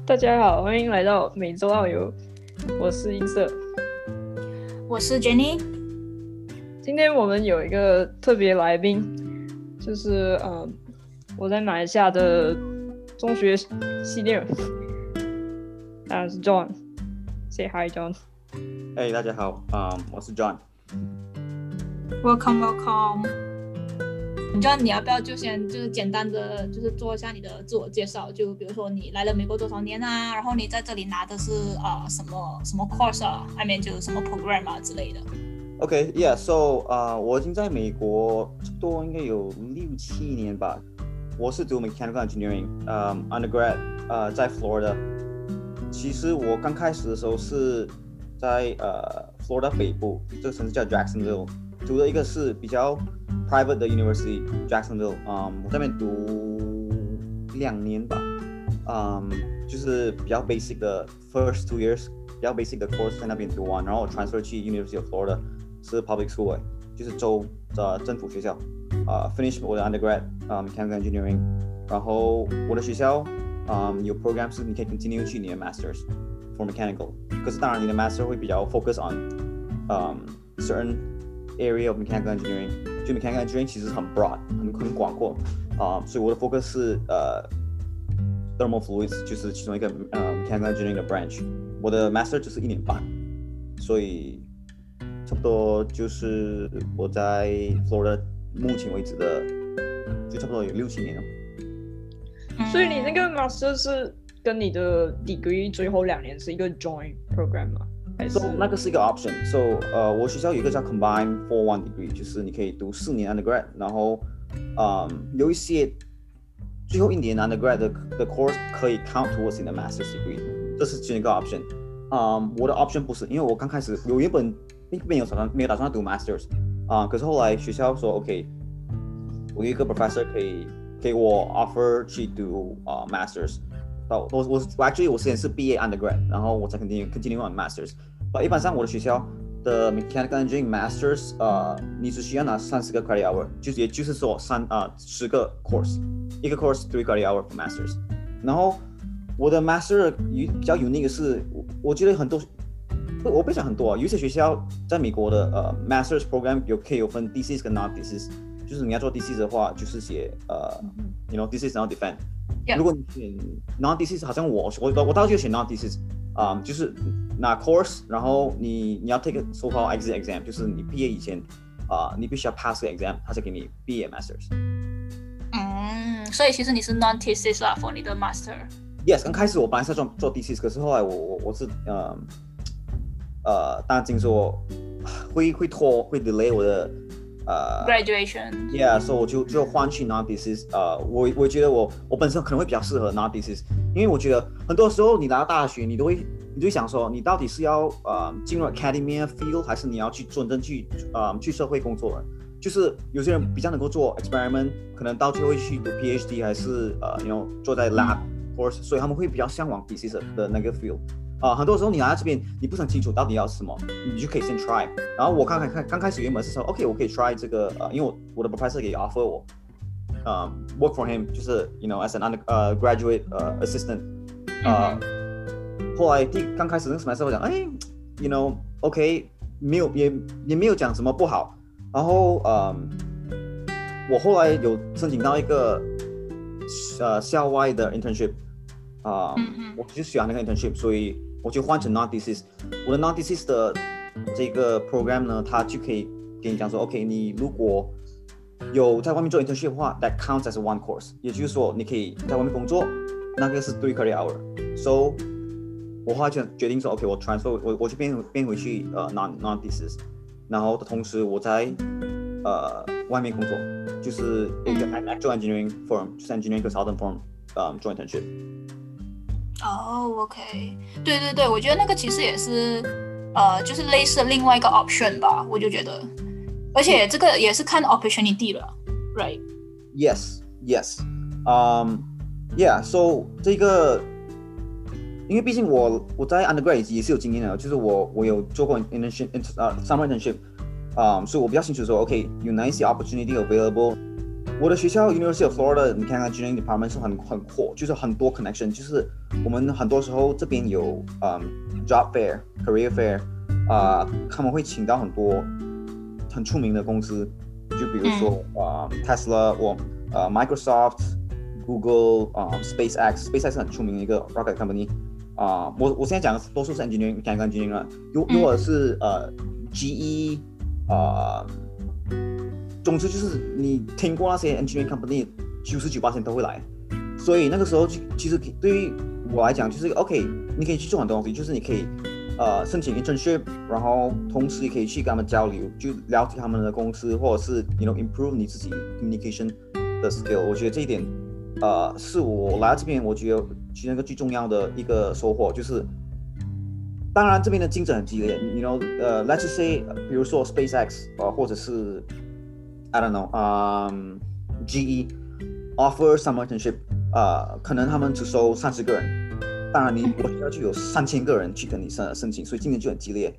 大家好，欢迎来到每周澳游，我是音色， 我是 Jenny。 今天我们有一个特别来宾，就是我在马来西亚的中学系列人，当然是 John。Say hi, John。 Hey， 大家好，我是 John。Welcome。John， 你要不要就是简单的就是做一下你的自我介绍？就比如说你来了美国多少年啊，然后你在这里拿的是什么 course 啊 ，I mean 就是什么 program 啊之类的。 OK，yeah，so 我已经在美国差不多应该有6-7年吧。我是读 mechanical engineering，undergrad，在 Florida。其实我刚开始的时候是在Florida 北部，这个城市叫 Jacksonville， 读的一个是比较 private 的 university Jacksonville， 我在那边读2年吧，就是比较 basic 的 first 2 years， 比较 basic 的 course 在那边读完，然后我 transfer 去 University of Florida， 是 public school， 就是州的政府学校，finish 我的 undergrad mechanical engineering， 然后我的学校有 program 是你可以 continue 去你的 masters for mechanical， 可是当然你的 master 会比较 focus on certain area of mechanical engineering， 就 mechanical engineering 其实很 broad， 很广阔，所以我的 focus 是thermal fluids， 就是其中一个mechanical engineering 的 branch， 我的 master 就是1年半，所以差不多就是我在 Florida 目前为止的就差不多有6-7年了。 所以你那个 master 是跟你的 degree 最后2年是一个 joint program 吗？还是那个是一个 option。So 我学校有一个叫 combined 4-1 degree， 就是你可以读4年 undergrad， 然后有一些最后1年 undergrad 的 course 可以 count towards 你的 master's degree， 这是其中一个 option。我的 option 不是，因为我刚开始我原本没有打算读 masters， 可是后来学校说 OK， 我有一个 professor 可以给我 offer 去读masters。我 actually 我之前是毕业 undergrad， 然后我才 continue on masters。一般上我的学校的 mechanical engineering masters， 你只需要拿30个 credit hour， 也就是说10个 course， 一个 course 3 credit hour for masters。然后我的 master 比较 unique 的是，我觉得很多，我不讲很多有一些学校在美国的masters program 可以有分 thesis 跟 non thesis， 就是你要做 thesis 的话，就是写thesis 然后 defend。Yeah. 如果你选 non thesis， 好像我当时就选 non thesis， 就是拿 course， 然后你要 take a so-called exit exam， 就是你毕业以前你必须要 pass 个 exam， 他才给你毕业 masters。 所以其实你是 non thesis 啦 for 你的 master。Yes， 刚开始我本来是做 thesis， 可是后来我是担心说会拖会 delay 我的 graduation。Yeah， 所以我就换去 non thesis。我觉得我本身可能会比较适合 non thesis， 因为我觉得很多时候你来到大学，你就会想说，你到底是要进入 academia field， 还是你要去真正去社会工作的？就是有些人比较能够做 experiment， 可能到最后会去读 PhD， 还是坐在 lab course， 所以他们会比较向往 thesis 的那个 field。很多时候你来到这边，你不是很清楚到底要什么，你就可以先 try。然后我刚开始原本是说 OK， 我可以 try 这个，因为我的 professor 可以 offer 我work for him， 就是 as an graduate assistant。后来刚开始那个 semester 我讲OK， 也没有讲什么不好。然后我后来有申请到一个校外的 internship， 我就喜欢那个 internship， 所以我就换成 non thesis。我的 non thesis 的这个 program 呢，它就可以给你讲说 OK， 你如果有在外面做 internship 的话 that counts as one course， 也就是说你可以在外面工作，那个是3 credit hour。 So 我后来就决定说 OK， 我 transfer 我就变回去non thesis， 然后的同时我在外面工作，就是一个 actual engineering firm， 就是 engineering consultant firm， 做 internship。 OK， 对，我觉得那个其实也是就是类似的另外一个 option 吧，我就觉得，而且这个也是看 opportunity 了 ，right？ Yes，so 这个，因为毕竟我在 undergrad 也是有经验的，就是我有做过 internship，summer internship，所以我比较清楚说 OK 有哪一些 opportunity available， 我的学校 University of Florida， 你看看 Engineering Department 是很阔，就是很多 connection， 就是我们很多时候这边有job fair、career fair， 他们会请到很多很出名的公司，就比如说Tesla 或Microsoft、Google、SpaceX 是很出名的一个 rocket company。我现在讲的多数是 engineering、mechanical engineering 啦，如果是GE，总之就是你听过那些 engineering company 99% 都会来，所以那个时候其实对于我来讲就是 OK， 你可以去做很多东西，就是你可以申请 internship， 然后同时也可以去跟他们交流，就了解他们的公司，或者是 improve 你自己 communication 的 skill。我觉得这一点是我来到这边我觉得其中一个最重要的一个收获，就是当然这边的竞争很激烈，let's just say 比如说 SpaceX 或者是 I don't know，GE offer some internship， 可能他们只收30个人，当然我学校就有3000个人去跟你申请，所以竞争就很激烈。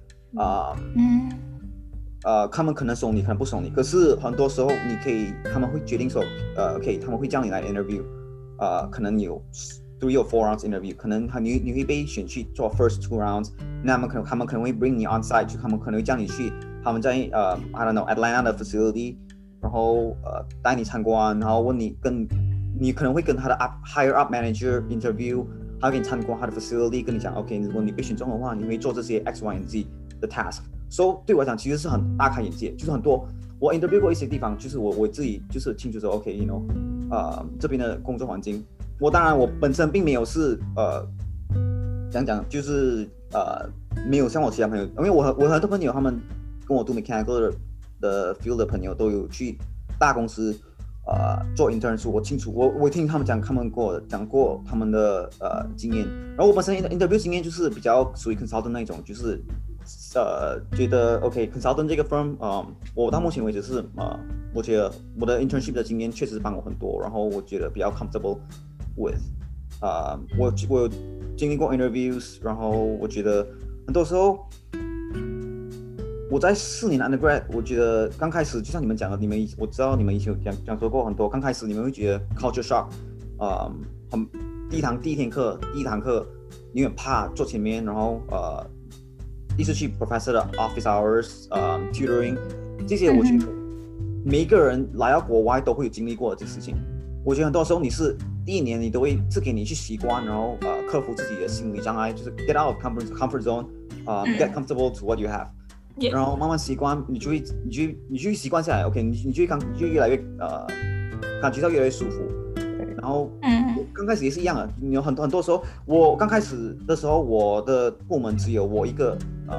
他们可能收你，可能不收你，可是很多时候他们会决定说，OK， 他们会叫你来 interview， 可能有3 or 4 rounds interview， 可能你会被选去做 first 2 rounds， 那他们可能会 bring 你 on site， 就他们可能会叫你去他们在I don't know Atlanta 的 facility， 然后带你参观，然后问你可能会跟他的higher up manager interview， 他会给你参观他的 facility， 跟你讲 OK， 如果你被选中的话，你会做这些 X Y and Z 的 task。So 对我来讲其实是很大开眼界，就是很多我 interview 过一些地方，就是我自己就是清楚说 OK， 这边的工作环境，当然我本身并没有是讲就是没有像我其他朋友，因为我很多朋友他们跟我读 mechanical 的 field 的朋友都有去大公司做 intern， 我清楚我听他们讲跟我讲过他们的经验，然后我本身 interview 经验就是比较属于 consultant 那种，就是觉得 OK consultant 这个 firm， 我到目前为止是我觉得我的 internship 的经验确实帮我很多，然后我觉得比较 comfortable with， 我有经历过 interviews， 然后我觉得很多时候我在4年 undergrad， 我觉得刚开始就像你们讲的，我知道你们以前有讲说过很多，刚开始你们会觉得 culture shock， 第一堂课你很怕坐前面，然后第一次去 professor 的 office hours，tutoring 这些，我觉得每一个人来到国外都会有经历过这些事情。我觉得很多时候你是第一年你都会是给你去习惯，然后克服自己的心理障碍，就是 get out of comfort zone，get comfortable to what you have， 然后慢慢习惯，你就会习惯下来 ，OK， 你就越来越感觉到越来越舒服。然后刚开始也是一样的，你有很多时候，我刚开始的时候，我的部门只有我一个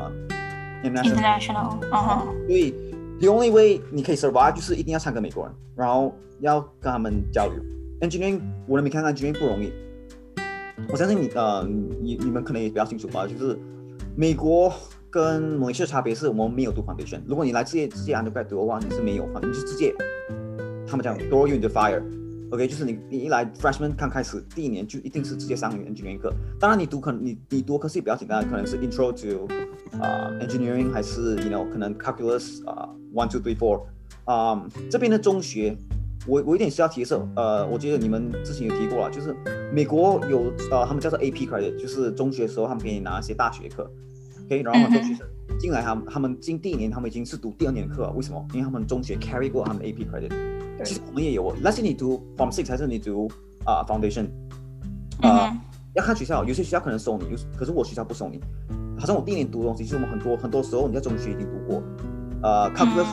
international， 所以 the only way 你可以 survive 就是一定要参跟美国人，然后要跟他们交流。engineering 我的mechanical engineering 不容易，我相信你们可能也比较清楚吧，就是美国跟马来西亚差别是我们没有读 foundation， 如果你来直接 undergrad 读的话，你是没有，你就直接他们讲 throw you into fire。OK， 就是你一来 freshman 刚开始第一年就一定是直接上 engineering 课。当然你读科系比较简单，可能是 intro to engineering， 还是可能 calculus 1 2 3 4。这边的中学，我有点需要提示，我觉得你们之前有提过了，就是美国有他们叫做 AP credit， 就是中学的时候他们给你拿一些大学课。OK， 然后很多学生进来他们进第一年他们已经是读第2年课了，为什么？因为他们中学 carry 过他们的 AP credit。其实我们也有，let's say 你读 Form 6还是你读Foundation， 要看学校，有些学校可能收你，可是我学校不收你。好像我第一年读的东西，就是我们很多时候你在中学已经读过，Calculus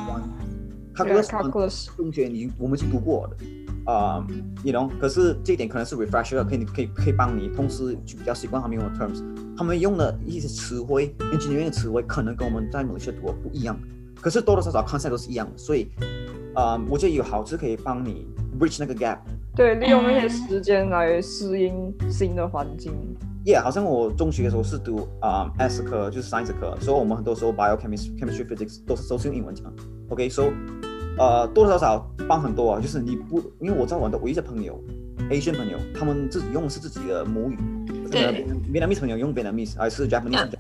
1，Calculus 中学我们已经读过的可是这一点可能是 refresher， 可以帮你，同时就比较习惯他们用的 terms， 他们用的一些词汇 ，engineering 的词汇可能跟我们在马来西亚读的不一样，可是多多少少 concept 都是一样的，所以。我觉得有好处可以帮你 bridge 那个 gap， 对，利用那些时间来适应新的环境。 好像我中学的时候是读S 科，就是 science 科，所以我们很多时候 biochemistry physics 都是用英文讲。OK，so 多多少少帮很多啊，就是因为我知道我的一些朋友 Asian 朋友，他们自己用的是自己的母语， 对 ，Vietnamese 朋友用 Vietnamese 还是 Japanese，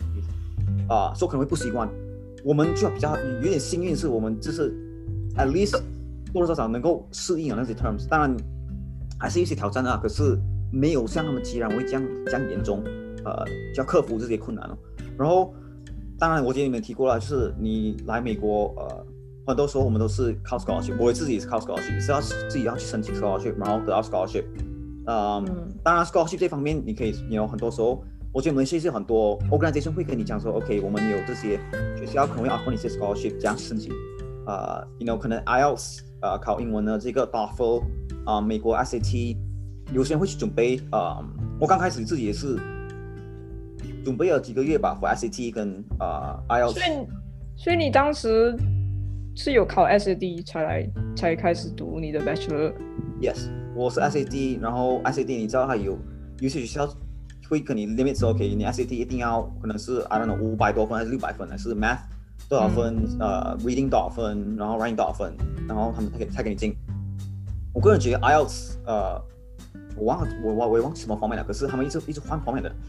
所以可能会不习惯。我们就比较有点幸运，是我们就是。At least 多多少少能够适应那些 terms， 当然还是有些挑战啊，可是没有像他们既然会这样严重，就要克服这些困难哦。然后当然我记得你们提过了，就是你来美国很多时候我们都是靠 scholarship， 我自己也是靠 scholarship， 是要自己要去申请 scholarship， 然后得到 scholarship。当然 scholarship 这方面你可以很多时候我觉得我们其实很多 organization 会跟你讲说 OK 我们有这些学校可能会 offer 你一些 scholarship 这样申请可能 IELTS 考英文的这个 TOEFL 美国 SAT 有些人会去准备我刚开始自己也是准备了几个月吧 for SAT 跟IELTS。 所以你当时是有考 SAT 才开始读你的 Bachelor？ Yes， 我是 SAT， 然后 SAT 你知道它有些学校会跟你 limit 说 OK 你 SAT 一定要可能是 I don't know 500多分还是600分，还是 Math 多少分Reading 多少分，然后 Writing 多少分，然后他们才给你进。我个人觉得 IELTS 我也忘记什么方面了，可是他们一直换方面的。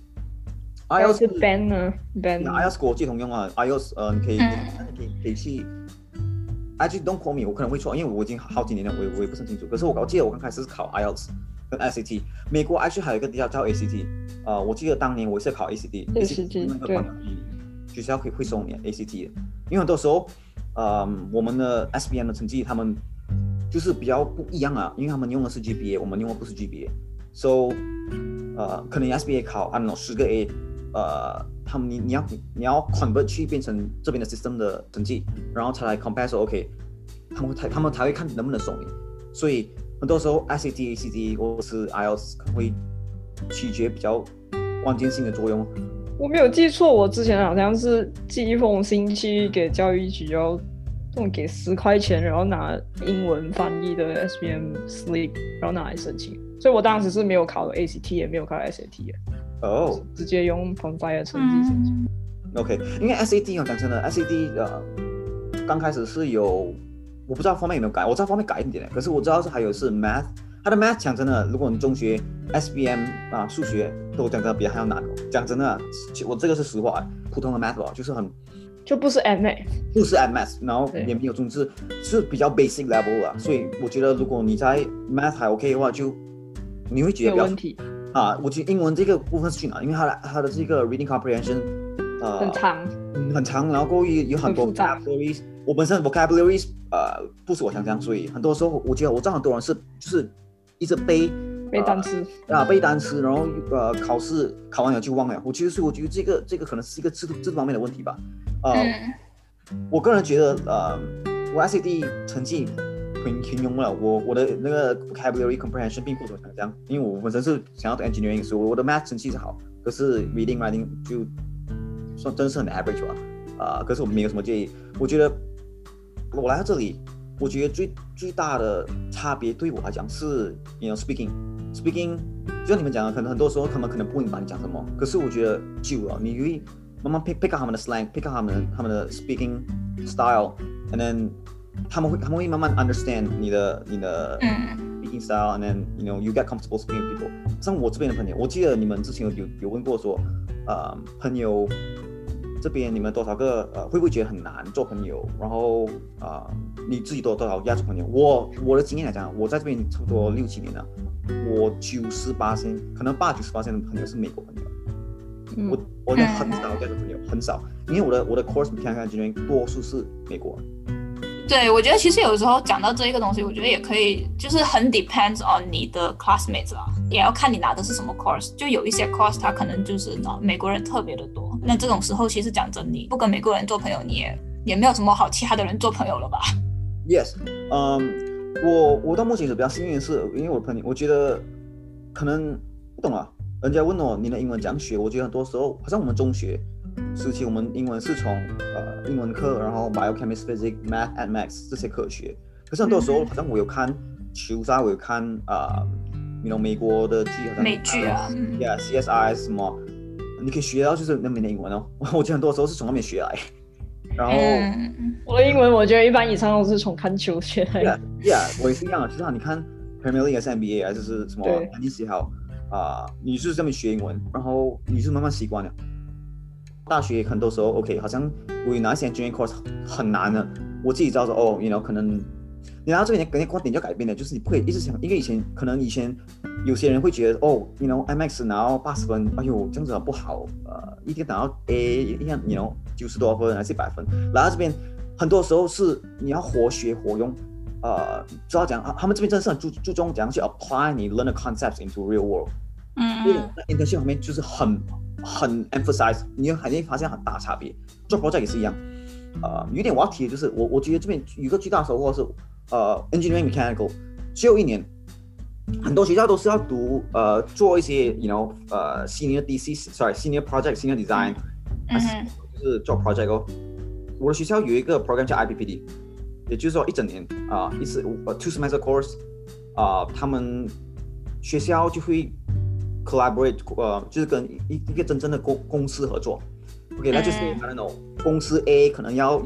IELTS 是 band 呢 IELTS 国际通用啊 IELTS 你可以去 Actually don't call me， 我可能会错，因为我已经好几年了，我也不是很清楚。可是我记得我刚开始是考 IELTS 跟 SAT， 美国 actually 还有一个叫 ACT， 我记得当年我是考 ACT 那个学校会收你 ACT 的，因为很多时候我们的 SBM 的成绩他们就是比较不一样啊，因为他们用的是 GPA， 我们用的不是 GPA，so 可能 SBA 考 I don't know 10个 A， 他们你要 convert 去变成这边的 system 的成绩，然后才来 compare 说 OK， 他们才会看能不能收你，所以很多时候 SAT、ACT 或是 IELTS 可能会取决比较关键性的作用。 我没有记错，我之前好像是寄一封信去给教育局，要给10块钱，然后拿英文翻译的 SBM slip， 然后拿来申请。所以我当时是没有考 ACT， 也没有考 SAT 的，直接用 Pondfire 成绩申请。 OK， 因为 SAT 讲真的 ，SAT 刚开始是有，我不知道方面有没有改，我知道方面改一点，可是我知道是还有是 Math， 它的 Math 讲真的，如果你中学 SBM 数学都讲真的比它还要难哦。讲真的，我这个是实话，普通的 Math 吧，就是就不是 Admath， 不是 Admath， 然后也没有中字，是比较 basic level 啦。所以我觉得如果你在 Math 还 OK 的话，就你会觉得比较有问题我觉得英文这个部分是去哪？因为它的这个 reading comprehension 很长，然后有很多 vocabularies。我本身 vocabularies 不是我想象，所以很多时候我觉得我知道很多人是就是一直背单词背单词，然后考试考完了就忘了。我觉得这个可能是一个制度方面的问题吧。我个人觉得我 SAT 成绩平庸了，我的那个 vocabulary comprehension 并不怎么想象，因为我本身是想要 engineering， 所以我的 math 成绩是好，可是 reading writing 就算真是很 average 吧。可是我没有什么建议。我觉得我来到这里，我觉得最大的差别对我来讲是 speaking， 就像你们讲的，可能很多时候他们可能不明白你讲什么，可是我觉得久了，你会慢慢 pick up 他们的 slang，pick up 他们的 speaking style，and then 他们会慢慢 understand 你的speaking style，and then you get comfortable speaking with people。像我这边的朋友，我记得你们之前有问过说，朋友这边你们多少个会不会觉得很难做朋友？然后你自己多少要做朋友？我的经验来讲，我在这边差不多6-7年了，我98%可能8-90%的朋友是美国朋友。我很少要做朋友，很少，因为我的 course mechanical engineering 多数是美国人。 对，我觉得其实有时候讲到这一个东西，我觉得也可以，就是很 depends on 你的 classmates 啦，也要看你拿的是什么 course。就有一些 course 它可能就是美国人特别的多，那这种时候其实讲真，你不跟美国人做朋友，你也没有什么好其他的人做朋友了吧 ？Yes， 我到目前为止比较幸运的是，因为我的朋友，我觉得可能不懂啊。人家问我你的英文怎样学，我觉得很多时候好像我们中学时期，我们英文是从英文课，然后 Biochemistry、Physics、Math、and Max 这些课学。可是很多时候，好像我有看球赛，我有看美国的剧，好像美剧啊 ，CSI 什么，你可以学到就是那边的英文哦。我觉得很多时候是从那边学来。然后我的英文，我觉得一般以上都是从看球学来的。 Yeah， 我也是一样的。就是你看 Premier League 还是 NBA 还是什么篮球也好。你是这么学英文，然后你是慢慢习惯了。大学很多时候 OK， 好像我有哪些 engineering course 很难的，我自己知道说可能你来到这边，跟你观点就改变了，就是你不可以一直想，因为以前有些人会觉得哦 ，you know IMAX 拿到80分，哎呦这样子不好，一定拿到 A， 一样 you know 90多分还是100分，来到这边很多时候是你要活学活用，知道讲他们这边真的是很注重怎样去 apply 你 learn the concepts into real world， 在 internship 方面就是很 emphasize， 你会发现很大差别，做 project 也是一样。有一点我要提的就是，我觉得这边有一个最大的收获是，engineering mechanical 只有1年，很多学校都是要读做一些 you know senior senior project senior design， 就是做 project 哦。我的学校有一个 program 叫 IPPD， 也就是说1整年一次2 semester course， 他们学校就会 collaborate， 就是跟一个真正的公司合作。OK， 那就是 I don't know， 公司 A 可能要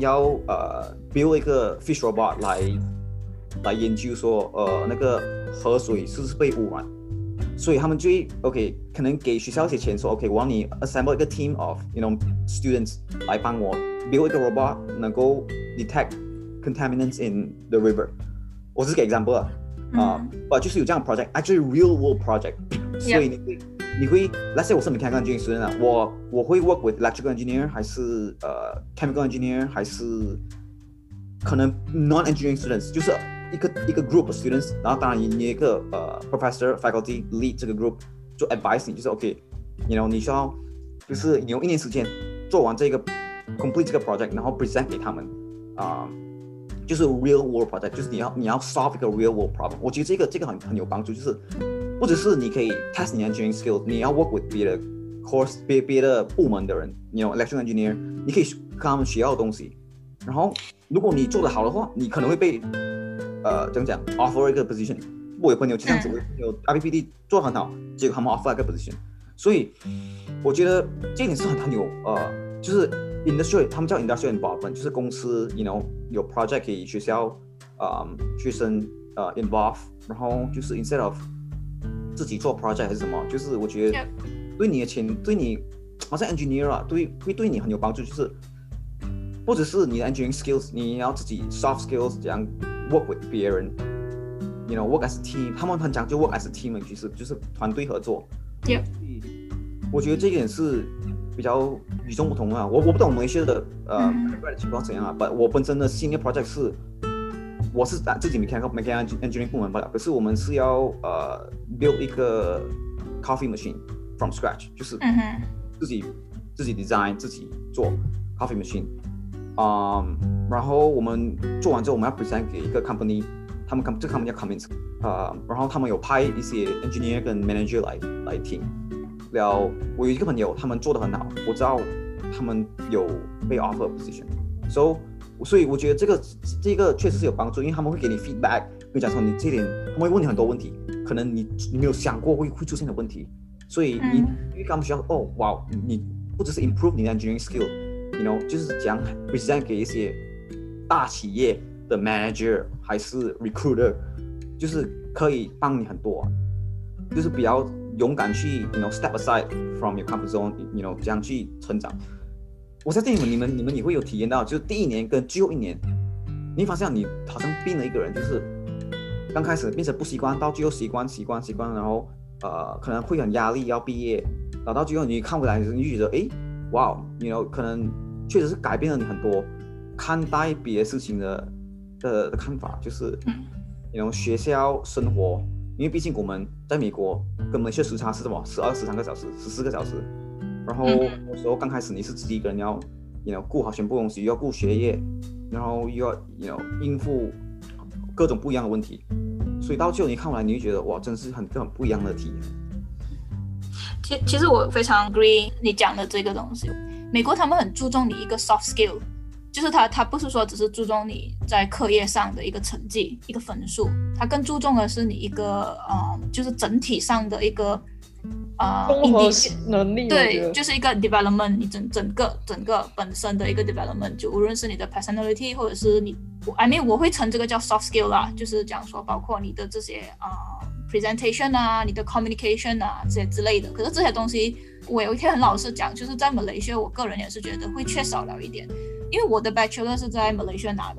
build 一个 fish robot 来研究说那个河水是不是被污染，所以他们就会 OK 可能给学校一些钱说 OK 我让你 assemble 一个 team of you know students 来帮我 build 一个 robot 能够 detect contaminants in the river， 我是给 example 啊就是有这样的 project actually real world project， 所以你会 let's say 我是 mechanical engineering student 啊，我会 work with electrical engineer 还是chemical engineer 还是可能 non engineering students， 就是一个 group of students， 然后当然你有一个professor faculty lead 这个 group 就 advise 你，就是 OK you know 你需要就是你用1年时间做完这个 complete 这个 project， 然后 present 给他们就是 real world project， 就是你要 solve 一个 real world problem， 我觉得这个很有帮助，就是不只是你可以 test 你的 engineering skill， 你要 work with 别的 course 别的部门的人 you know electrical engineer， 你可以跟他们学到的东西，然后如果你做得好的话，你可能会被怎样讲 offer 一个 position。我有朋友就这样子，有 IPPD 做得很好，结果他们 offer 一个 position， 所以我觉得这一点是很有就是 industry 他们叫 industrial involvement， 就是公司 you know 有 project 给学校学生involve， 然后就是 instead of 自己做 project 还是什么，就是我觉得对你的对你好像 engineer 会对你很有帮助，就是不只是你的 engineering skills， 你要自己 soft skills 怎样 work with 别人 you know work as a team， 他们很讲究 work as a team， 其实就是团队合作。我觉得这一点是比较与众不同啊。我不懂马来西亚的情况怎样啊，但我本身的 senior project 是我是自己 mechanical engineering 部门罢了，可是我们是要build 一个 coffee machine from scratch， 就是自己 design 自己做 coffee machine， 然后我们做完之后我们要 present 给一个 company， 这个 company 叫 Cummins， 然后他们有派一些 engineer 跟 manager 来听。我有一个朋友他们做得很好，我知道他们有被 offer position， 所以我觉得这个确实是有帮助，因为他们会给你 feedback， 跟你讲说你这点，他们会问你很多问题，可能你没有想过会出现的问题，所以你跟他们需要哇，你不只是 improve 你的 engineering skill，you know 就是讲 present 给一些大企业的 manager 还是 recruiter， 就是可以帮你很多，就是比较勇敢去 you know step aside from your comfort zone，you know 这样去成长。我相信你们也会有体验到，就是第1年跟最后1年，你发现你好像变了一个人，就是刚开始变成不习惯，到最后习惯，然后可能会很压力要毕业，然后到最后你看回来，你就觉得哇 you know 可能确实是改变了你很多看待别的事情的看法，就是you know 学校生活，因为毕竟我们在美国跟马来西亚时差是什么13个小时14个小时，然后有时候刚开始你是自己一个人要 you know 顾好全部东西，又要顾学业，然后又要 you know 应付各种不一样的问题，所以到最后你看完你会觉得哇，真是很不一样的体验。 其实我非常 agree 你讲的这个东西，美国他们很注重你一个 soft skill， 就是他不是说只是注重你在课业上的一个成绩一个分数，他更注重的是你一个就是整体上的一个综合能力， 对，就是一个 development， 你整个本身的一个 development， 就无论是你的 personality 或者是你 I mean 我会称这个叫 soft skill 啦，就是讲说包括你的这些presentation 啊，你的 communication 啊这些之类的。可是这些东西我有一天很老实讲，就是在马来西亚我个人也是觉得会缺少了一点，因为我的 bachelor 是在马来西亚拿的，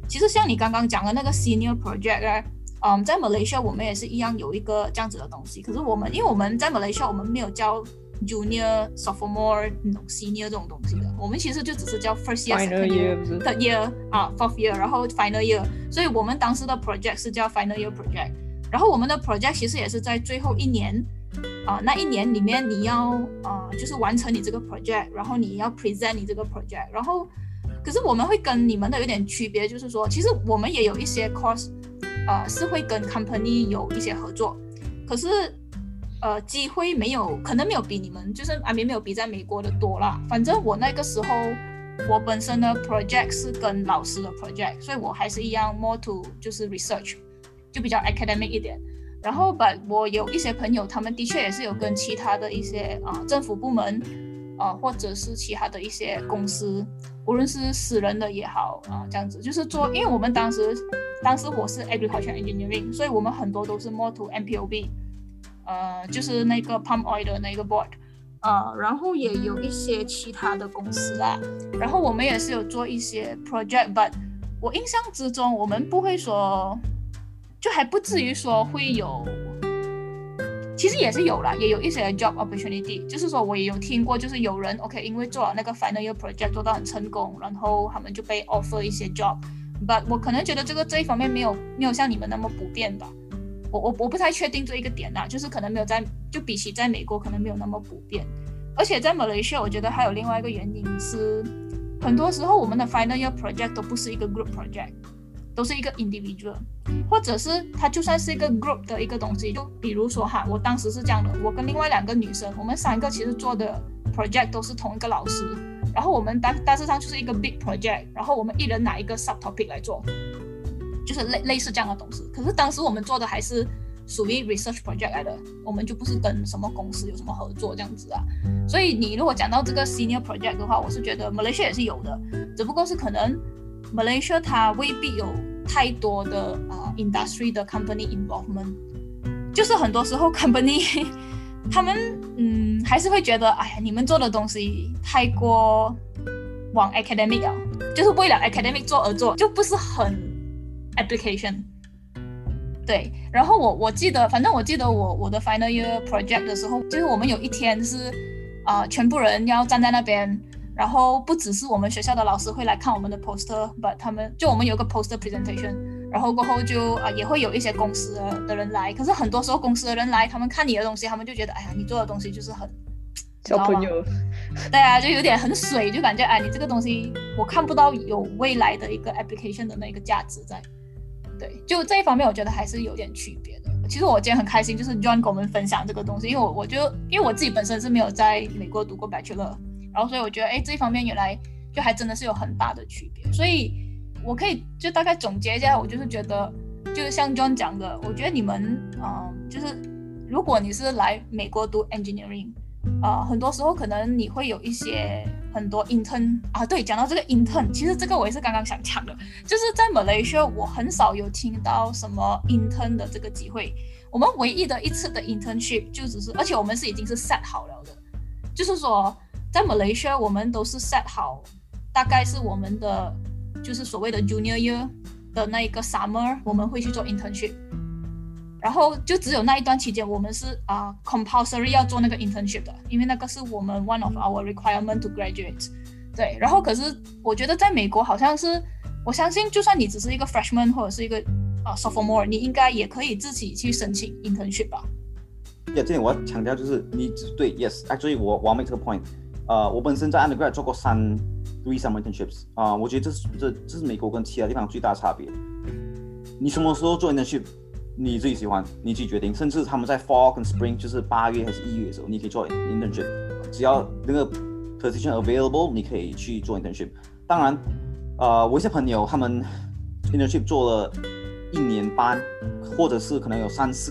其实像你刚刚讲的那个 senior project 在 Malaysia 我们也是一样有一个这样子的东西，可是因为我们在 Malaysia 我们没有教 junior sophomore senior 这种东西的，我们其实就只是教 first year Final second year third year fourth year 然后 final year， 所以我们当时的 project 是叫 final year project， 然后我们的 project 其实也是在最后一年那一年里面你要就是完成你这个 project， 然后你要 present 你这个 project， 然后可是我们会跟你们的有点区别，就是说其实我们也有一些 course是会跟 company 有一些合作，可是机会可能没有比你们就是没有比在美国的多啦。反正我那个时候我本身的 project 是跟老师的 project， 所以我还是一样 more to 就是 research， 就比较 academic 一点。然后我有一些朋友他们的确也是有跟其他的一些政府部门或者是其他的一些公司，无论是私人的也好这样子就是做，因为我们当时我是 agriculture engineering， 所以我们很多都是 more to MPOB， 就是那个 palm oil 的那个 board， 然后也有一些其他的公司啦，然后我们也是有做一些 project， but 我印象之中我们不会说，就还不至于说会有，其实也是有啦，也有一些 job opportunity， 就是说我也有听过，就是有人 OK 因为做了那个 final year project 做到很成功，然后他们就被 offer 一些 job，but 我可能觉得这一方面没有像你们那么普遍吧，我不太确定这一个点啦，就是可能没有就比起在美国可能没有那么普遍，而且在 Malaysia 我觉得还有另外一个原因是，很多时候我们的 final year project 都不是一个 group project， 都是一个 individual， 或者是它就算是一个 group 的一个东西，就比如说我当时是这样的，我跟另外2个女生，我们3个其实做的 project 都是同一个老师，然后我们大致上就是一个 big project， 然后我们一人拿一个 subtopic 来做，就是类似这样的东西。可是当时我们做的还是属于 research project 来的，我们就不是跟什么公司有什么合作这样子所以你如果讲到这个 senior project 的话，我是觉得 Malaysia 也是有的，只不过是可能 Malaysia 它未必有太多的industry 的 company involvement， 就是很多时候 company 他们还是会觉得哎呀你们做的东西太过往 academic 了，就是为了 academic 做而做，就不是很 application。 对，然后我记得我的 final year project 的时候，就是我们有一天是全部人要站在那边，然后不只是我们学校的老师会来看我们的 poster， but 我们有个 poster presentation， 然后过后就也会有一些公司的人来，可是很多时候公司的人来，他们看你的东西，他们就觉得哎呀你做的东西就是很小朋友， 对啊，就有点很水，就感觉你这个东西我看不到有未来的一个 application 的那个价值在。对，就这一方面我觉得还是有点区别的。其实我今天很开心，就是 John 跟我们分享这个东西，因为我自己本身是没有在美国读过 Bachelor， 然后所以我觉得这一方面原来就还真的是有很大的区别。所以我可以就大概总结一下，我就是觉得就是像 John 讲的，我觉得你们就是如果你是来美国读 engineering，很多时候可能你会有一些很多 intern 对，讲到这个 intern， 其实这个我也是刚刚想讲的，就是在 Malaysia 我很少有听到什么 intern 的这个机会，我们唯一的一次的 internship 就只是，而且我们已经是 set 好了的，就是说在 Malaysia 我们都是 set 好，大概是我们的就是所谓的 junior year 的那一个 summer 我们会去做 internship，然后就只有那一段期间我们是compulsory 要做那个 internship 的，因为那个是我们 one of our requirement to graduate。 对，然后可是我觉得在美国好像是，我相信就算你只是一个 freshman 或者是一个sophomore， 你应该也可以自己去申请 internship 吧。 这点我要强调就是你对 yes actually 我要 make 这个 point， 我本身在 undergrad 做过3 summer internships， 我觉得这是美国跟其他地方最大的差别。你什么时候做 internship你自己喜欢，你自己决定，甚至他们在 fall 跟 spring 就是8月还是1月的时候你可以做 internship， 只要那个 position available 你可以去做 internship。 当然我有些朋友他们 internship 做了1年半，或者是可能有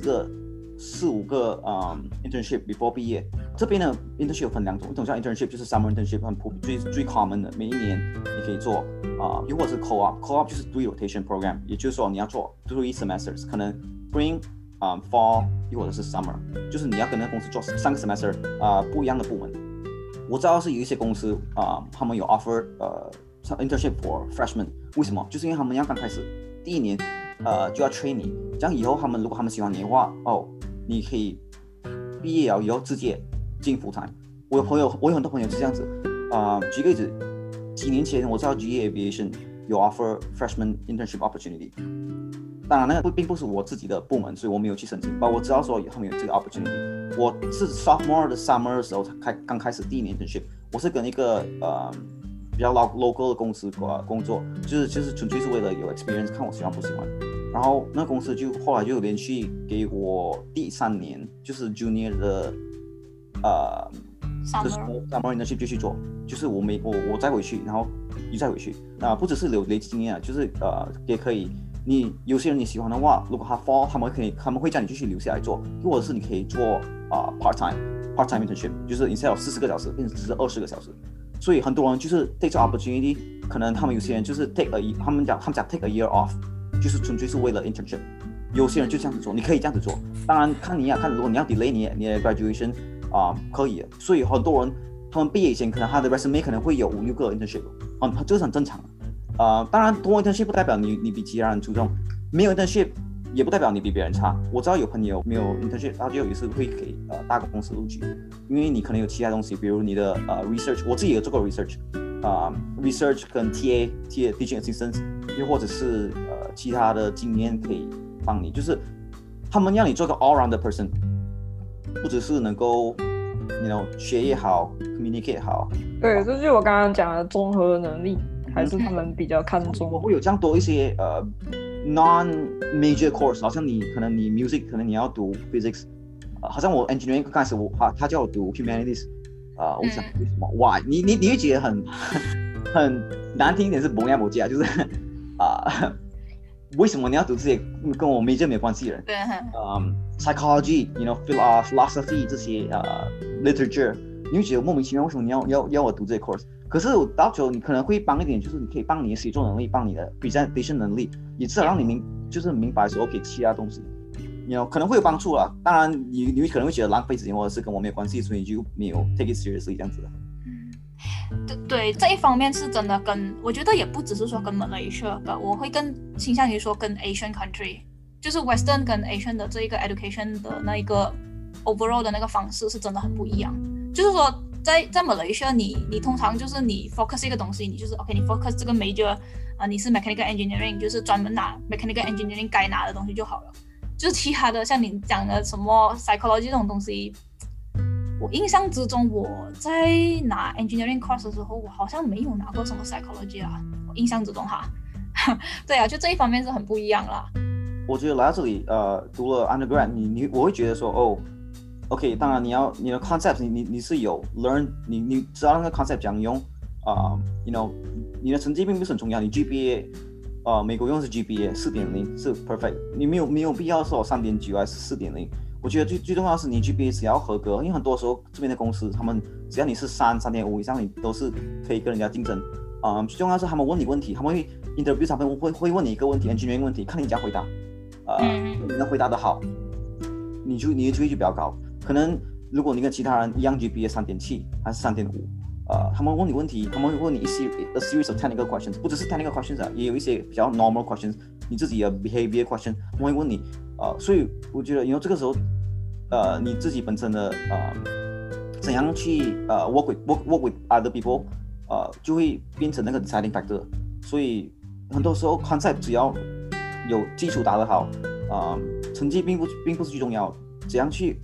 3、4、5个internship before 毕业。这边的 internship 分2种，一种叫 internship 就是 summer internship 很普遍最 common 的，每一年你可以做又或者是 co-op 就是 3 rotation program， 也就是说你要做3 semesters， 可能 spring fall 又或者是 summer， 就是你要跟那个公司做3个 semester 不一样的部门。我知道是有一些公司他们有 offer internship for freshman 为什么？就是因为他们要刚开始第一年就要 train 你，这样以后如果他们喜欢你的话，你可以毕业了以后直接进 full time。我有很多朋友是这样子。举个例子，几年前我知道 GE Aviation 有 offer freshman internship opportunity。当然，那个并不是我自己的部门，所以我没有去申请。但我知道说他们有这个 opportunity。我是 sophomore 的 summer 的时候刚开始第一年 internship， 我是跟一个比较 local 的公司工作，就是纯粹是为了有 experience， 看我喜欢不喜欢。然后那公司后来就连续给我第3年，就是 junior 的 summer internship 继续做，就是我再回去，然后你再回去。不只是累积经验，就是也可以。你有些人你喜欢的话，如果他 fall， 他们会叫你继续留下来做，或者是你可以做part time internship， 就是 instead of 40个小时变成只是20个小时。所以很多人就是 take 这 opportunity， 可能他们有些人就是 他们讲 take a year off， 就是纯粹是为了 internship。有些人就这样子做，你可以这样子做。当然看如果你要 delay 你的 graduation 可以的。所以很多人他们毕业以前可能他的 resume 可能会有5-6个 internship， 这是很正常的。当然多 internship 不代表你比其他人出众，没有 internship 也不代表你比别人差。我知道有朋友没有 internship， 他就有一次会给大公司录取，因为你可能有其他东西，比如你的research， 我自己有做过 research 跟 TA teaching assistant， 又或者是其他的经验可以帮你，就是他们让你做个 all round 的 person， 不只是能够学业好 communicate 好。 对，这就是我刚刚讲的综合能力。还是他们比较看重。 我会有这样多一些non-major course， 好像你 music 可能你要读 physics， 好像我 engineering 刚开始他叫我读 humanities， 我想为什么 why？ 你会觉得很难听一点是不一样，就是为什么你要读这些跟我 major 没有关系的人？psychology， philosophy 这些literature， 你会觉得莫名其妙，为什么你要我读这些 course？可是到最后你可能会帮一点，就是你可以帮你的写作能力，帮你的 presentation 能力，也至少让你就是明白说 OK 其他东西，可能会有帮助啦。当然你可能会觉得浪费时间，或者是跟我没有关系，所以你就没有 take it seriously 这样子的。 对，这一方面是真的我觉得也不只是说跟 Malaysia， 我会更倾向于说跟 Asian country， 就是 Western 跟 Asian 的这一个 education 的那一个 overall 的那个方式是真的很不一样，就是说。在 Malaysia， 你通常就是你 focus 一个东西，你就是 OK， 你 focus 这个 major， 你是 mechanical engineering， 就是专门拿 mechanical engineering 该拿的东西就好了。就是其他的像你讲的什么 psychology 这种东西，我印象之中我在拿 engineering course 的时候，我好像没有拿过什么 psychology 啦，我印象之中哈。对啊，就这一方面是很不一样啦。 我觉得来到这里读了 undergrad， 我会觉得说OK， 当然你的 concept 你是有 learn， 你知道那个 concept 怎样用你的成绩并不是很重要，你 GPA 美国用的是 GPA 4.0 是 perfect， 你没有必要说 3.9 还是 4.0。我觉得最重要的是你 GPA 只要合格，因为很多时候这边的公司他们只要你是3.5以上，你都是可以跟人家竞争。最重要的是他们问你问题，他们会 interview， 他们会问你一个问题 engineering 问题，看你怎样回答。你能回答得好，你的机会就比较高。可能如果你跟其他人一样 GPA 3.7还是3.5，他们问你问题，他们会问你a series of technical questions， 不只是 technical questions 也有一些比较 normal questions， 你自己的 behavior question， 他们会问你，所以我觉得这个时候，你自己本身的怎样去work with other people，就会变成那个 deciding factor。所以很多时候 concept 只要有基础打得好，成绩并不是最重要的，怎样去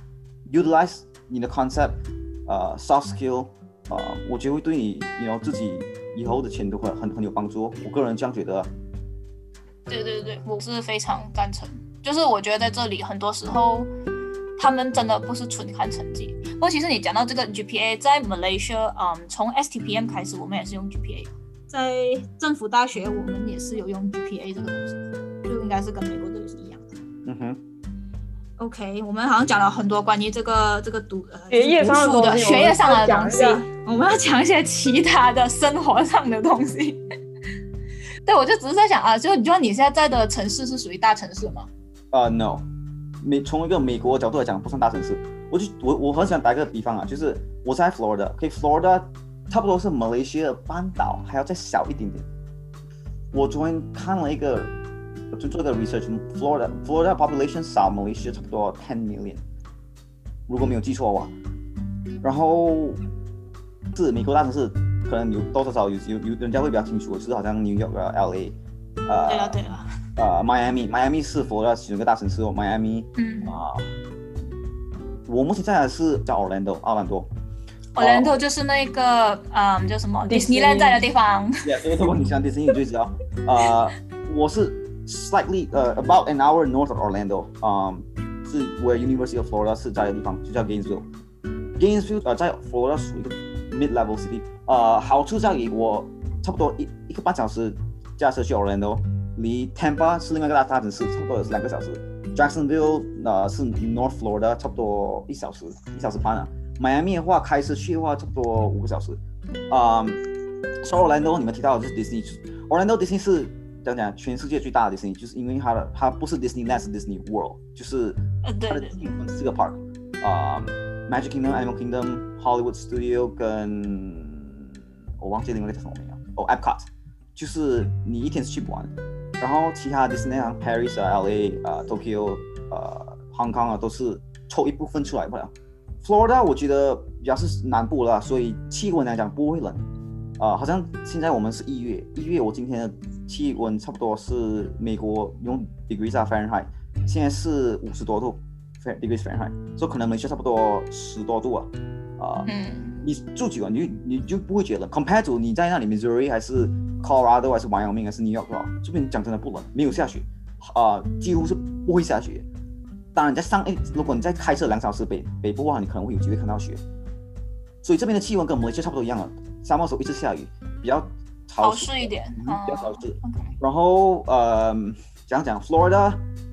utilize 你的 concept，soft skill，我觉得会对你自己以后的前途很有帮助。我个人这样觉得。 对，我是非常赞成。就是我觉得在这里很多时候，他们真的不是纯看成绩。不过其实你讲到这个 GPA， 在 Malaysia，从 STPM 开始，我们也是用 GPA。在政府大学，我们也是有用 GPA 这个东西，就应该是跟美国这里是一样的。OK， 我们好像讲了很多关于这个学业上的东西，我们要讲一些其他的生活上的东西。对，我就只是在想就你觉得你现在的城市是属于大城市吗 ？No， 从一个美国角度来讲，不算大城市。我很想打一个比方就是我在 Florida， Florida 差不多是 Malaysia 的半岛，还要再小一点点。 我昨天看了一个，就做一个 research，Florida population 少 Malaysia 差不多10 million， 如果没有记错的话。然后是美国大城市，可能有多多少少有人家会比较清楚，就是好像 New York 啊 LA， 对了 Miami 是佛罗里达其中一个大城市哦，Miami， 我目前在的是叫奥兰多就是那个叫什么 Disneyland 在的地方。 Yeah， 如果你想 Disney 你就知道，我是 slightly about an hour north of Orlando， 是 where University of Florida 是在的地方，就叫 Gainesville。Gainesville 在佛罗里达属于一个 mid-level city， 好处在于我差不多一个半小时驾车去 Orlando， 离 Tampa 是另外一个大城市，差不多有2个小时。Jacksonville 是 North Florida， 差不多1小时半啊。Miami 的话，开车去的话，差不多5个小时。所以 Orlando 你们提到的就是 Disney，Orlando Disney 是讲全世界最大的 Disney， 就是因为它不是 Disneyland， 是 Disney World， 就是它的Disney 分4个 park，Magic Kingdom、Animal Kingdom、Hollywood Studio 跟我忘记另外一个叫什么名了，Epcot， 就是你一天是去不完。然后其他 Disneyland Paris 啊、LA Tokyo Hong Kong 啊都是抽一部分出来不了。Florida 我觉得比较是南部啦，所以气温来讲不会冷。好像现在我们是1月，我今天的气温差不多是美国用 degrees 啊 Fahrenheit， 现在是50多度 degrees Fahrenheit， 所以可能美国差不多10多度啊。你住久了你就不会觉得冷 ，compared to 你在那里 Missouri 还是 Colorado 还是 Wyoming 还是 New York 这边讲真的不冷，没有下雪，几乎是不会下雪。当然如果你在开车2小时北部的话，你可能会有机会看到雪。所以这边的气温跟马来西亚差不多一样了，沙漠时候一直下雨，比较潮湿一点， 比较潮湿。然后讲 Florida，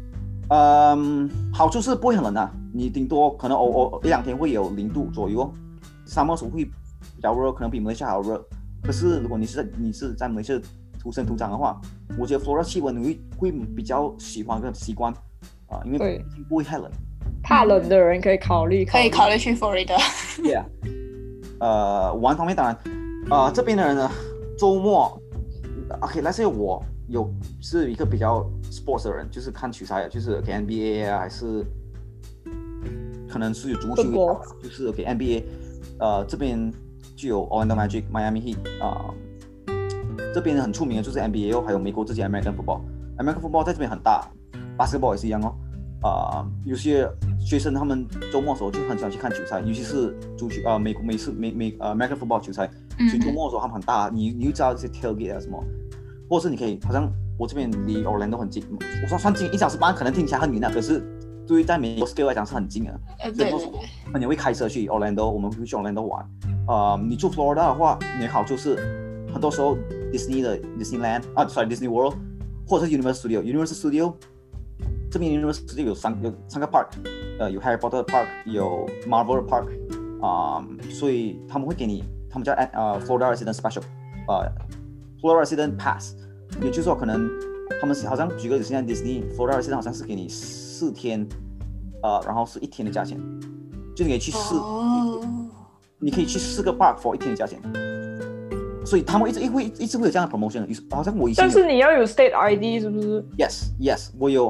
好处是不会很冷啊，你顶多可能1、2天会有0度左右，沙漠时候会比较热，可能比马来西亚还要热。可是如果你是在马来西亚土生土长的话，我觉得 Florida 气温你会比较喜欢跟习惯因为不会太冷。 怕冷的人可以考虑去 Florida。Yeah。 玩方面当然，这边的人呢，周末 ，OK，let's say 我是一个比较 sports 的人，就是看球赛，就是 NBA 啊，还是可能是有足球，就是 NBA， 这边就有 Orlando Magic、Miami Heat， 这边很出名的就是 NBA 还有美国自己 American Football。American Football 在这边很大 ，Basketball 也是一样哦。有些学生他们周末的时候就很喜欢去看球赛，尤其是足球American Football 球赛，所以周末的时候他们很大，你就知道这些 tailgate 啊什么，或者是你可以好像我这边离 Orlando 很近，我说算近1小时半可能听起来很远啊，可是对于在美国 scale 来讲是很近的。所以很多人会开车去 Orlando， 我们会去 Orlando 玩。你住 Florida 的话，你的好处是很多时候 Disneyland Disney World 或者是 Universal Studio。这边 Universal Studio 有三个 park， 有 Harry Potter Park， 有 Marvel Park， 所以他们会给你，他们叫Florida Resident Special，Florida Resident Pass， 也就是说可能他们好像举个例子，现在 Disney Florida Resident 好像是给你4天，然后是1天的价钱，就你可以去你可以去4个 park for 1天的价钱。所以他们一直会有这样的 promotion， 好像我以前。 但是你要有 state ID 是不是 ？Yes， 我有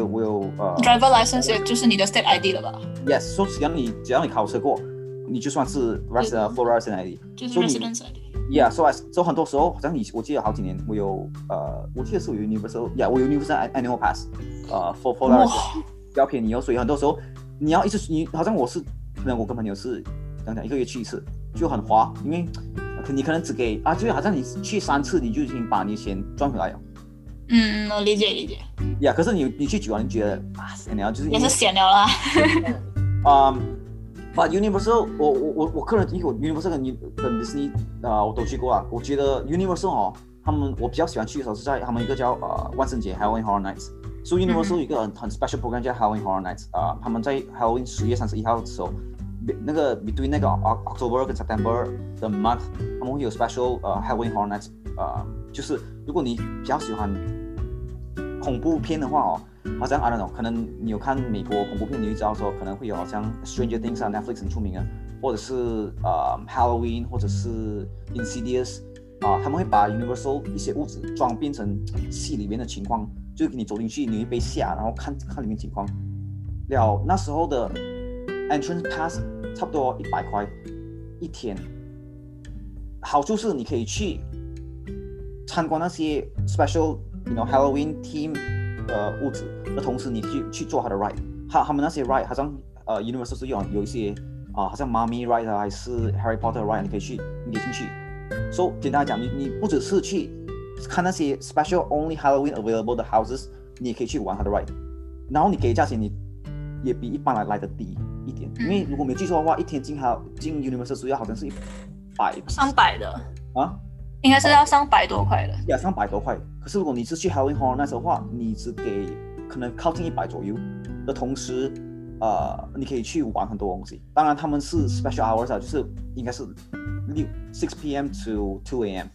driver license 就是你的 state ID 了吧 ？Yes， 所以只要你考车过，你就算是 Florida Resident ID， 就是 Resident ID。Yeah，so 很多时候好像我记得好几年我有我记得是有 Universal， 我有 Universal Annual Pass，for Florida 比较便宜哦，所以很多时候你要你好像可能我跟朋友是1个月去1次，就很划，因为。你可能只给就好像你去3次，你就已经把你钱赚回来了。 我理解。 Yeah， 可是你去久了，你觉得闲了，就是也是闲了啦。 But Universal， 我个人因为我 Universal 跟 Disney 我都去过啊。我觉得 Universal 我比较喜欢去的时候是在他们一个叫万圣节 Halloween Horror Nights。所以 Universal 有一个很 special program 叫 Halloween Horror Nights， 他们在 Halloween 10月31号的时候。那个 between 那个 October 跟 September 的 month， 他们会有 special Halloween Horror Nights， 就是如果你比较喜欢恐怖片的话好像 I don't know， 可能你有看美国恐怖片，你就知道说可能会有好像 Stranger Things Netflix 很出名的，或者是Halloween 或者是 Insidious， 他们会把 Universal 一些屋子装变成戏里面的情况，就是你走进去你会被吓，然后看里面情况。了那时候的 entrance pass 差不多100块一天，好处是你可以去参观那些 special Halloween theme 的屋子的同时，你去做它的 ride， 他们那些 ride 好像Universal 是有一些好像 Mummy ride 还是 Harry Potter ride， 你可以进去。So 简单来讲，你不只是去看那些 special only Halloween available 的 houses， 你也可以去玩它的 ride， 然后你给的价钱你也比一般来的低一点，因为如果没记错的话，一天进 Universal 要好像是 300的啊， 应该是要300多块的。 呀，300多块。可是如果你是去 Halloween Horror Nights 的话，你只给可能靠近100左右的同时，你可以去玩很多东西。当然他们是 special hours 啊，就是应该是6 p.m. to 2 a.m.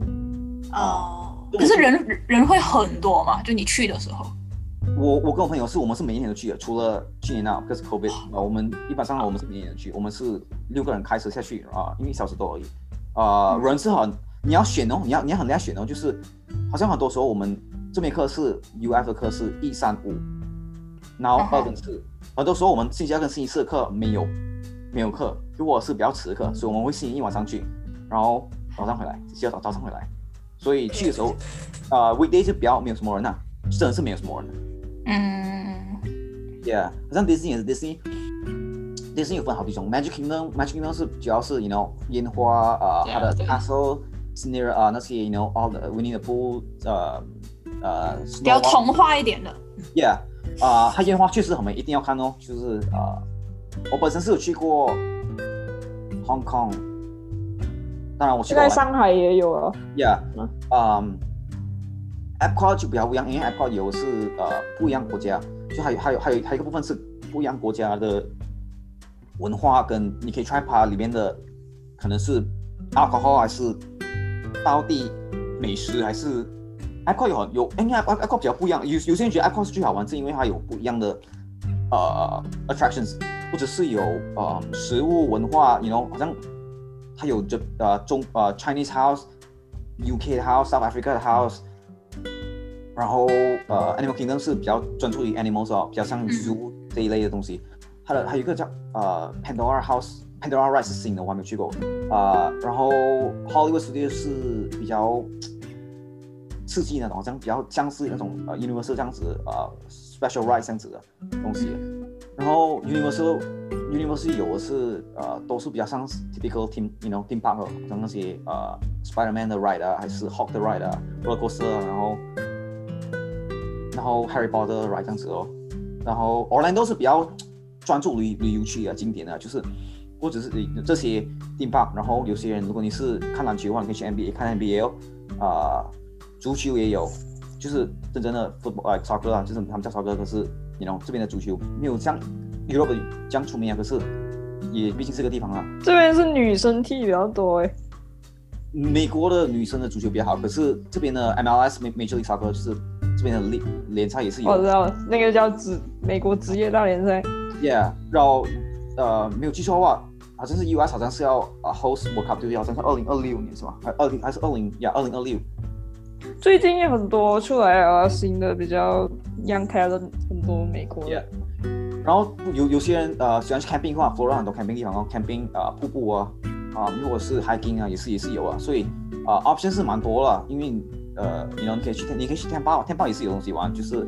可是人会很多嘛？就你去的时候。 我跟我朋友我们是每一年都去的，除了去年那是 COVID， 我们一般上我们是每一年都去，我们是6个人开车下去因为1小时多而已。人是很你要选哦，你要很厉害选哦，就是好像很多时候我们这门课是 UF 的课是1、3、5，然后2跟4，很多时候我们星期2跟星期4的课没有课，如果是比较迟的课，所以我们会星期1晚上去，然后早上回来，星期2早上回来，所以去的时候weekday 是比较没有什么人啊，真的是没有什么人的。Yeah， 好像 Disney 也是 Disney 有分好几种 Magic Kingdom 是主要是烟花它的 castle scenery 那些all the Winnie the Pooh 比较童话一点的。 Yeah， 它烟花确实很美，一定要看哦。就是我本身是有去过 Hong Kong， 当然我去过在上海也有啊。 Yeah，Epcot 就比较不一样，因为 Epcot 有是不一样国家，就还有一个部分是不一样国家的文化，跟你可以 try 它里面的可能是 alcohol 还是当地美食，还是 Epcot 因为 Epcot 比较不一样，有些人觉得 Epcot 是最好玩，是因为它有不一样的attractions， 或者是有食物文化好像它有Chinese house、UK 的 house、South Africa 的 house。然后Animal Kingdom 是比较专注于 animals 比较像 zoo 这一类的东西。它还有一个叫Pandora House，Pandora Ride 是新的，我还没有去过。然后 Hollywood Studios 是比较刺激那种，好像比较像是那种Universal 这样子Special Ride 这样子的东西。然后 Universal 有的是都是比较像 typical theme park， 好像那些Spider-Man 的 ride 还是 Hulk 的 ride roller coaster， 然后 Harry Potter 的 ride 这样子哦。然后 Orlando 是比较专注旅游区景点的，就是或者是这些 theme park。然后有些人如果你是看篮球的话，你可以去 NBA 看 NBA 足球也有，就是真正的 football soccer 就是他们叫 soccer， 可是这边的足球没有像 Europe 这样出名可是也毕竟是个地方啊。 这边是女生踢比较多美国的女生的足球比较好，可是这边的 MLS Major League Soccer 就是这边的联赛也是有。 我知道那个叫美国职业大联赛。 Yeah， 然后没有记错的话，好像是 US 好像是要host World Cup， 对，好像是2026年是吧？还是2026。 最近也很多出来新的比较 young talent， 很多美国的。 Yeah， 然后有些人喜欢去 camping 的话，Florida 很多 camping 地方camping 瀑布如果是 hiking 也是有所以option 是蛮多了，因为你可以去 Tampa 也是有东西玩，就是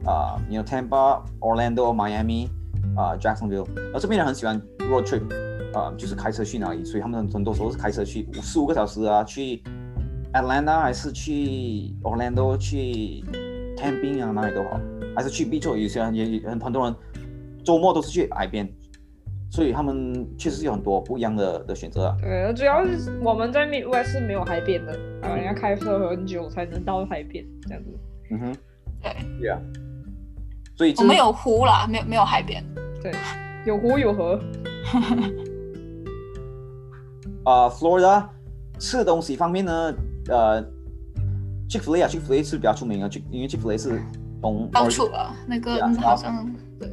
Tampa、Orlando、Miami、Jacksonville， 然后这边人很喜欢 road trip， 就是开车去哪里，所以他们很多时候是开车去15个小时去 Atlanta 还是去 Orlando 去 camping 哪里都好，还是去 beach， 有些人也很多人周末都是去海边。所以他们确实有很多不一样的选择对，主要是我们在 Midwest 是没有海边的，人家开车很久才能到海边这样子。 对。 Yeah。所以我们有湖啦，没有海边。 对，有湖有河。 Florida 吃的东西方面呢，Chick-fil-A 是比较出名的，因为 Chick-fil-A 是从到处那个好像对。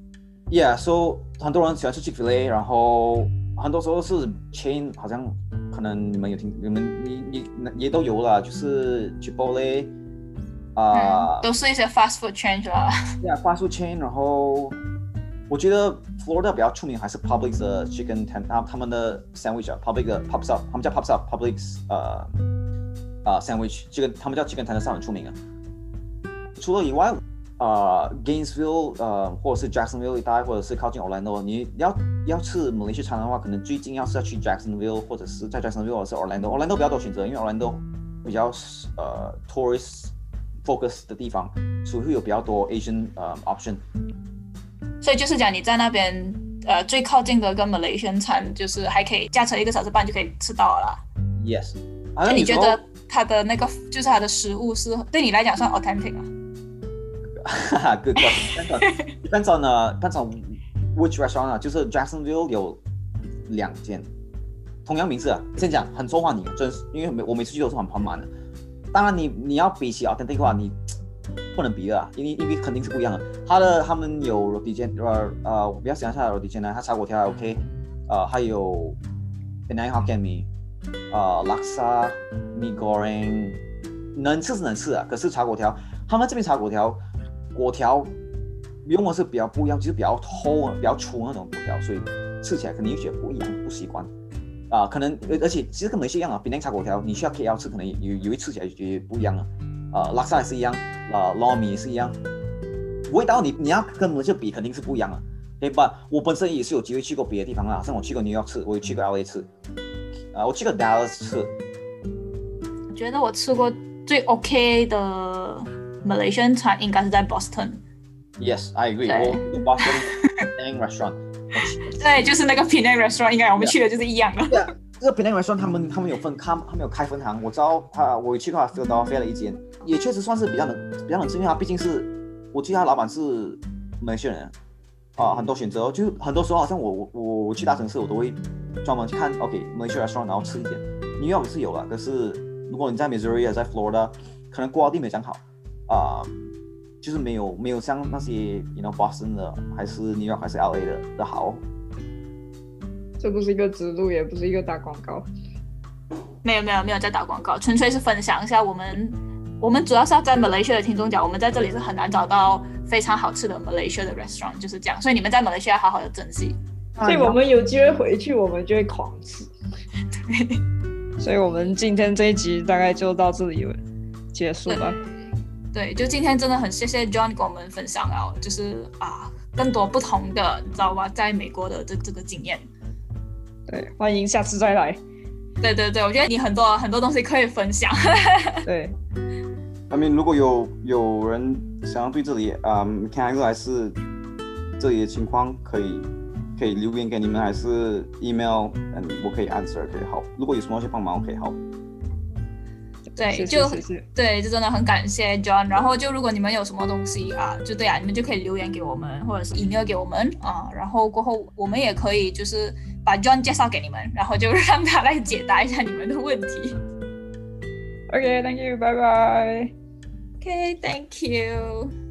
Yeah， so 很多人喜欢吃 Chick-fil-A， 然后很多时候是 chain， 好像可能你们有听，你也都有了，就是 Chipotle 都是一些 fast food chain 啦。 Yeah, fast food chain， 然后我觉得 Florida 比较出名还是 Publix 的 Chicken Tender， 他们的 sandwich 啊 ，Publix 的 Pops Up， 他们叫 Pops Up，Publix sandwich， 这个他们叫 Chicken Tender 很出名啊。除了以外，Gainesville 或者是 Jacksonville 一带，或者是靠近 Orlando， 你要吃马来西亚餐的话，可能最近要去 Jacksonville， 或者是在 Jacksonville 或者是 Orlando 比较多选择，因为 Orlando 比较tourist focus 的地方，所以会有比较多 Asian option。 所以就是讲你在那边最靠近的跟 Malaysian 餐，就是还可以驾车1个小时半就可以吃到了啦。 Yes。 那你觉得它的那个就是它的食物是对你来讲算 authentic 啊 ？Good question. Depends on which restaurant 啊，就是 Jacksonville 有2间，同样名字啊。先讲很受欢迎，真是因为我每次去都是很满的。当然你要比起 authentic 的话，你不能比的啊，因为肯定是不一样的。他们有 roti jam， 我比较喜欢它的 roti jam 呢，它炒粿条还 OK， 还有 Penang Hokkien Mee， laksa mee goreng， 能吃是能吃啊，可是炒粿条，他们这边炒粿条用的是比较不一样，就是比较厚、比较粗那种粿条，所以吃起来肯定觉得不一样，不习惯。可能而且其实跟马来西亚一样啊，Penang炒粿条，你去到 KL 吃，可能也会吃起来觉得不一样啊。laksa 也是一样，lor mee 也是一样，味道你要跟马来西亚比，肯定是不一样的。对吧？我本身也是有机会去过别的地方啦，像我去过 New York 吃，我也去过 LA 吃，我去过 Dallas 吃。 我觉得我吃过最 OK 的 Malaysian 餐应该是在 Boston。Yes, I agree. 我 Boston Penang restaurant。 对，就是那个 Penang restaurant， 应该我们去的就是一样的。 Yeah, 这个 Penang restaurant 他们有分，他们有开分行。我知道我去过 Philadelphia 的一间，也确实算是比较能吃，因为他毕竟是我记得他老板是马来西亚人。很多选择，就很多时候好像我去大城市，我都会专门去看 Malaysia restaurant， 然后吃一间。New York 是有了，可是如果你在 Missouri 在 Florida， 可能quality没有这样好，就是没有像那些 Boston 的，还是 New York 还是 LA 的好。 这不是一个植入，也不是一个打广告。 没有在打广告，纯粹是分享一下我们主要是要在 Malaysia 的听众讲，我们在这里是很难找到非常好吃的 Malaysia 的 restaurant， 就是这样。所以你们在 Malaysia 要好好的珍惜。 所以我们有机会回去，我们就会狂吃。对。所以我们今天这一集大概就到这里结束了。 对，就今天真的很谢谢 John 跟我们分享了，就是更多不同的，你知道吧，在美国的这个经验。 对，欢迎下次再来。 对，我觉得你很多东西可以分享。 对。 如果有人想要对这里看还是这里的情况，可以留言给你们，还是 email， 我可以 answer， 可以好。如果有什么去帮忙，可以好。 对， 谢谢对，就真的很感谢 John。然后就如果你们有什么东西就对你们就可以留言给我们，或者是 email 给我们然后过后我们也可以就是把 John 介绍给你们，然后就让他来解答一下你们的问题。 OK， thank you， bye bye。 Okay, thank you.